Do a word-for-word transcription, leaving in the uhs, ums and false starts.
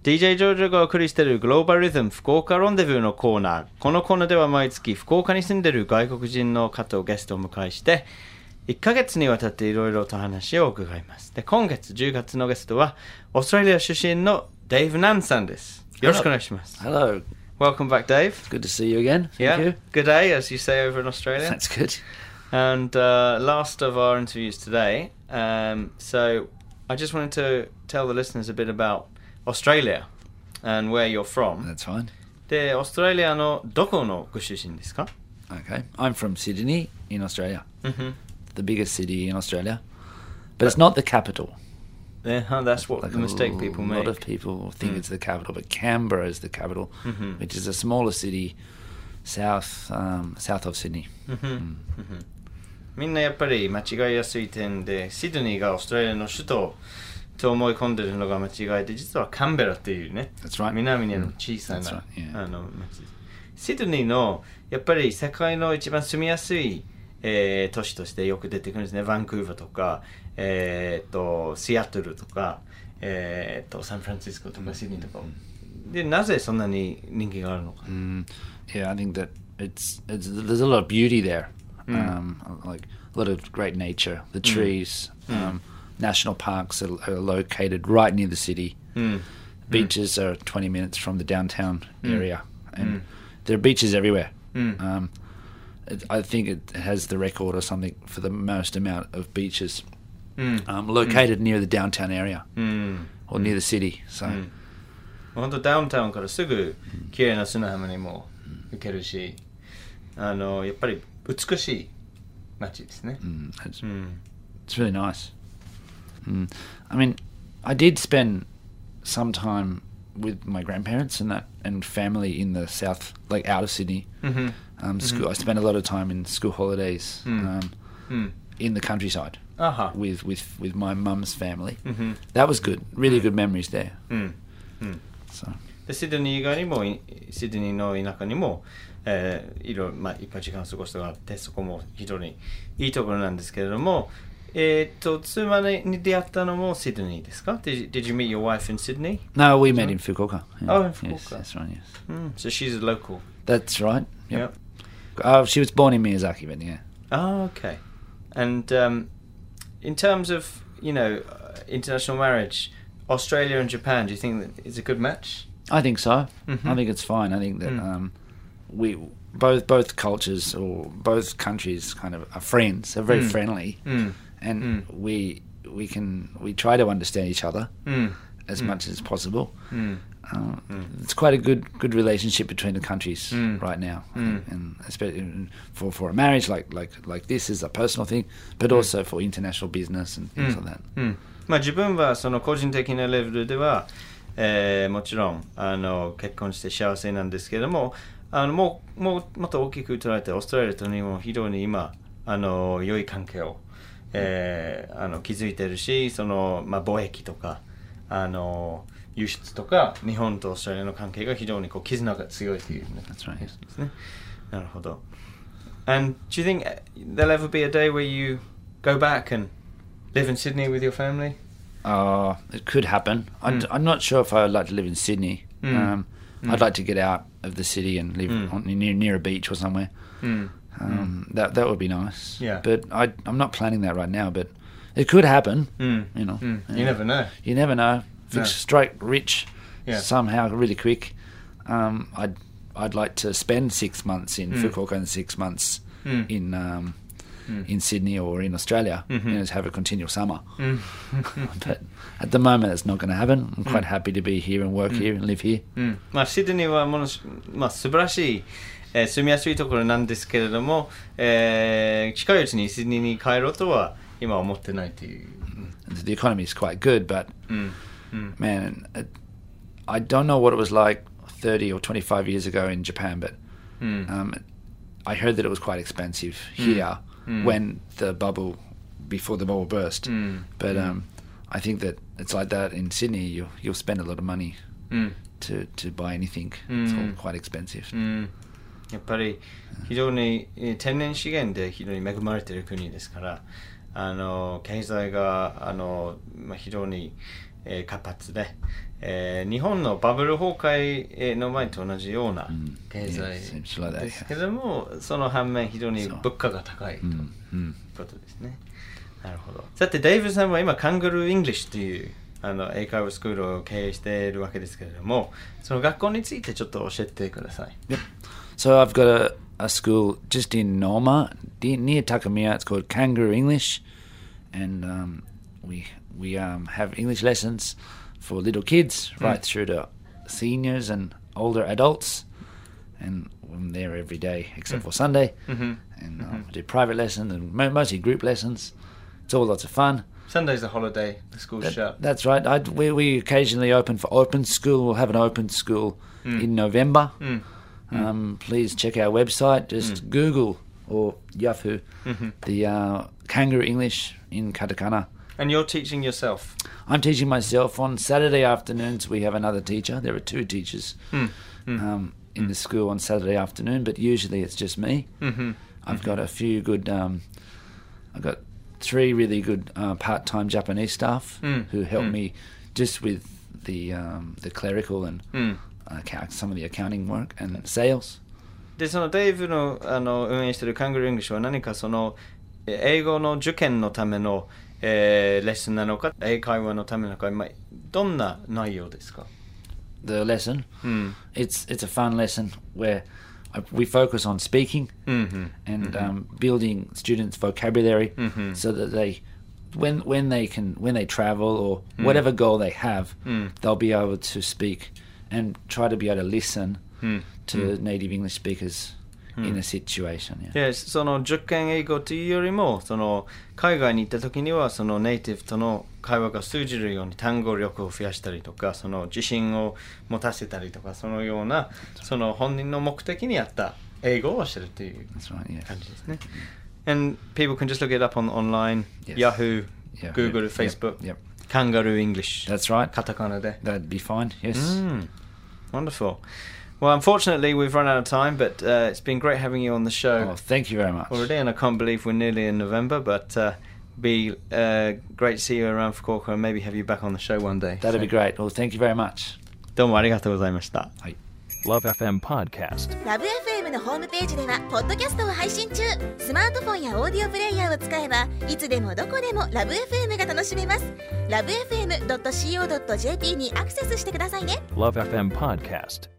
ディージェー ジョージョがお送りしているグローバルリズム福岡ロンデブーのコーナー。このコーナーでは毎月福岡に住んでいる外国人の方をゲストをお迎えしていっかげつにわたっていろいろと話を伺います。で、今月じゅうがつのゲストはオーストラリア出身のデイブ・ナンさんです。よろしくお願いします。 Hello. Welcome back, Dave. It's good to see you again. Thank yeah, you. good day, as you say over in Australia. That's good. And uh, last of our interviews today. Um, so I just wanted to tell the listeners a bit about Australia and where you're from. That's fine. で、オーストラリアのどこのご出身ですか? Okay. I'm from Sydney in Australia. Mm-hmm. The biggest city in Australia. But it's not the capital. Yeah, that's what like the mistake people make. A lot of people think mm. it's the capital, but Canberra is the capital, mm-hmm. which is a smaller city south um, south of Sydney. Mm-hmm. Mm. Mm-hmm. みんなやっぱり間違いやすい点で、シドニーがオーストラリアの首都と思い込んでるのが間違いで、実はカンベラっていうね、 That's right. 南にある小さな、 mm. right. yeah. あの町です。シドニーのやっぱり世界の一番住みやすい、えー、都市としてよく出てくるんですね。バンクーバーとか、えー、とシアトルとか、えー、とサンフランシスコとかシドニーとか。で、なぜそんなに人気があるのか。 Mm. Yeah, I think that it's, it's there's a lot of beauty there. Mm. Um, like a lot of great nature, the trees, mm. um, national parks are, are located right near the city. Mm. Beaches mm. are twenty minutes from the downtown mm. area, and mm. there are beaches everywhere. Mm. Um, it, I think it has the record or something for the most amount of beaches mm. um, located mm. near the downtown area mm. or near the city. So, mm. 本当ダウンタウンからすぐ綺麗な砂浜にも行けるし、あのやっぱり美しい街ですね。 Mm, it's, mm. it's really nice. Mm. I mean, I did spend some time with my grandparents and that and family in the south, like out of Sydney. Mm-hmm. Um, school. Mm-hmm. I spent a lot of time in school holidays mm. um, mm. in the countryside uh-huh. with, with, with my mum's family. Mm-hmm. That was good. Really good memories there. Mm. Mm. So. でシドニー以外にもシドニーの田舎にも、えー、いろいろ、まあ、いっぱい時間を過ごすことがあってそこも非常にいいところなんですけれども、えー、と妻に出会ったのもシドニーですか? Did, did you meet your wife in Sydney? No, we met in Fukuoka. Yeah. Oh, in Fukuoka. Yes, that's right, yes. Mm, so she's a local. That's right. Yep. yep. Uh, she was born in Miyazaki, but yeah. Oh, okay. And um, in terms of, you know, uh, international marriage, Australia and Japan, do you think that it's a good match? I think so. Mm-hmm. I think it's fine. I think that mm. um, we both both cultures or both countries kind of are friends. They're very mm. friendly, mm. and mm. we we can we try to understand each other mm. as mm. much as possible. Mm. Uh, mm. It's quite a good good relationship between the countries mm. right now, mm. and especially for for a marriage like like like this is a personal thing, but mm. also for international business and things mm. like that. Mm. まあ自分はその個人的なレベルでは。えー、もちろんあの結婚して幸せなんですけども、あのもうもうもっと大きく捉えてオーストラリアと日本は非常に今あの良い関係を、えー、あの築いてるし、そのまあ貿易とかあの輸出とか日本とオーストラリアの関係が非常にこう絆が強いというですね。なるほど。And do you think there'll ever be a day where you go back and live in Sydney with your family? Uh, it could happen. Mm. I'm not sure if I'd like to live in Sydney. Mm. Um, mm. I'd like to get out of the city and live mm. on, near near a beach or somewhere. Mm. Um, mm. That that would be nice. Yeah. But I, I'm not planning that right now. But it could happen. Mm. You know. Mm. Yeah. You never know. You never know. If no. it's straight rich, yeah. somehow really quick. Um, I'd I'd like to spend six months in mm. Fukuoka and six months mm. in. Um, Mm. in Sydney or in Australia, mm-hmm. you know, to have a continual summer. Mm. But at the moment, it's not going to happen. I'm quite mm. happy to be here and work mm. here and live here. うん、まあシドニーはものし、まあ素晴らしい、えー、住みやすいところなんですけれども、えー、近いうちにシドニーに帰ろうとは今は思ってないという。 The economy is quite good, but mm. Mm. man, it, I don't know what it was like thirty or twenty-five years ago in Japan, but mm. um, I heard that it was quite expensive here. Mm. Mm. When the bubble, before the bubble burst. Mm. But mm. um, I think that it's like that in Sydney. You'll, you'll spend a lot of money mm. to, to buy anything. Mm. It's all quite expensive. Mm. やっぱり非常に天然資源で非常に恵まれている国ですから、あの経済があの、まあ、非常に、えー、活発で、 えー、日本のバブル崩壊の前と同じような経済 Essentially that, ですけども、その反面非常に物価が高いといううんうんことですね。なるほど。さて、デイブさんは今、カンガルー・イングリッシュというあの英会話スクールを経営しているわけですけれども、その学校についてちょっと教えてください。 Yep. So I've got a, a school just in Norma, near Takamiya. It's called Kangaroo English, and um, we we um, have English lessons for little kids right through to seniors and older adults, and I'm there every day except for Sunday, mm-hmm. and um, mm-hmm. I do private lessons and mo- mostly group lessons. It's all lots of fun. Sunday's a holiday, the school's That, shut. That's right. I, we, we occasionally open for open school. We'll have an open school mm. in November. Mm. Um, please check our website. Just mm. Google or Yahoo mm-hmm. the uh, Kangaroo English in katakana. And you're teaching yourself? I'm teaching myself. On Saturday afternoons we have another teacher. There are two teachers mm. Mm. Um, in mm. the school on Saturday afternoon, but usually it's just me. Mm-hmm. I've mm-hmm. got a few good... Um, I've got three really good uh, part-time Japanese staff mm. who help mm. me just with the um, the clerical and mm. uh, some of the accounting work and sales. で、そのデイブの、あの運営しているカンガルー・イングリッシュは何かその英語の受験のための、えー、レッスンなのか、英会話のためなのか、まあ、どんな内容ですか? The lesson, mm. it's it's a fun lesson where we focus on speaking mm-hmm. and mm-hmm. um, building students' vocabulary mm-hmm. so that they, when when they can, when they travel or mm. whatever goal they have, mm. they'll be able to speak and try to be able to listen mm. to mm. native English speakers mm. in a situation. Yeah. Yes, その受験英語というよりも、その海外に行った時にはそのネイティブとの会話が通じるように単語力を増やしたりとか、その自信を持たせたりとか、そのようなその本人の目的に合った英語をしてるという感じですね。And people can just look it up on online, yes. Yahoo, Yahoo, Google, yep, Facebook, yep. Kangaroo English. That's right. カタカナで。 That'd be fine, yes. Mm, wonderful. Well, unfortunately, we've run out of time, but uh, it's been great having you on the show. Oh, thank you very much. Already, and I can't believe we're nearly in November, but uh, be uh, great to see you around Fukuoka and maybe have you back on the show one day. That'd so. be great. Well, thank you very much. どうもありがとうございました。 はい。 Love エフエム Podcast。 ラブ エフエム のホームページではポッドキャストを配信中。スマートフォンやオーディオプレイヤーを使えばいつでもどこでもラブ エフエム が楽しめます。ラブ エフエムドットシーオードットジェーピー にアクセスしてくださいね。 Love エフエム Podcast。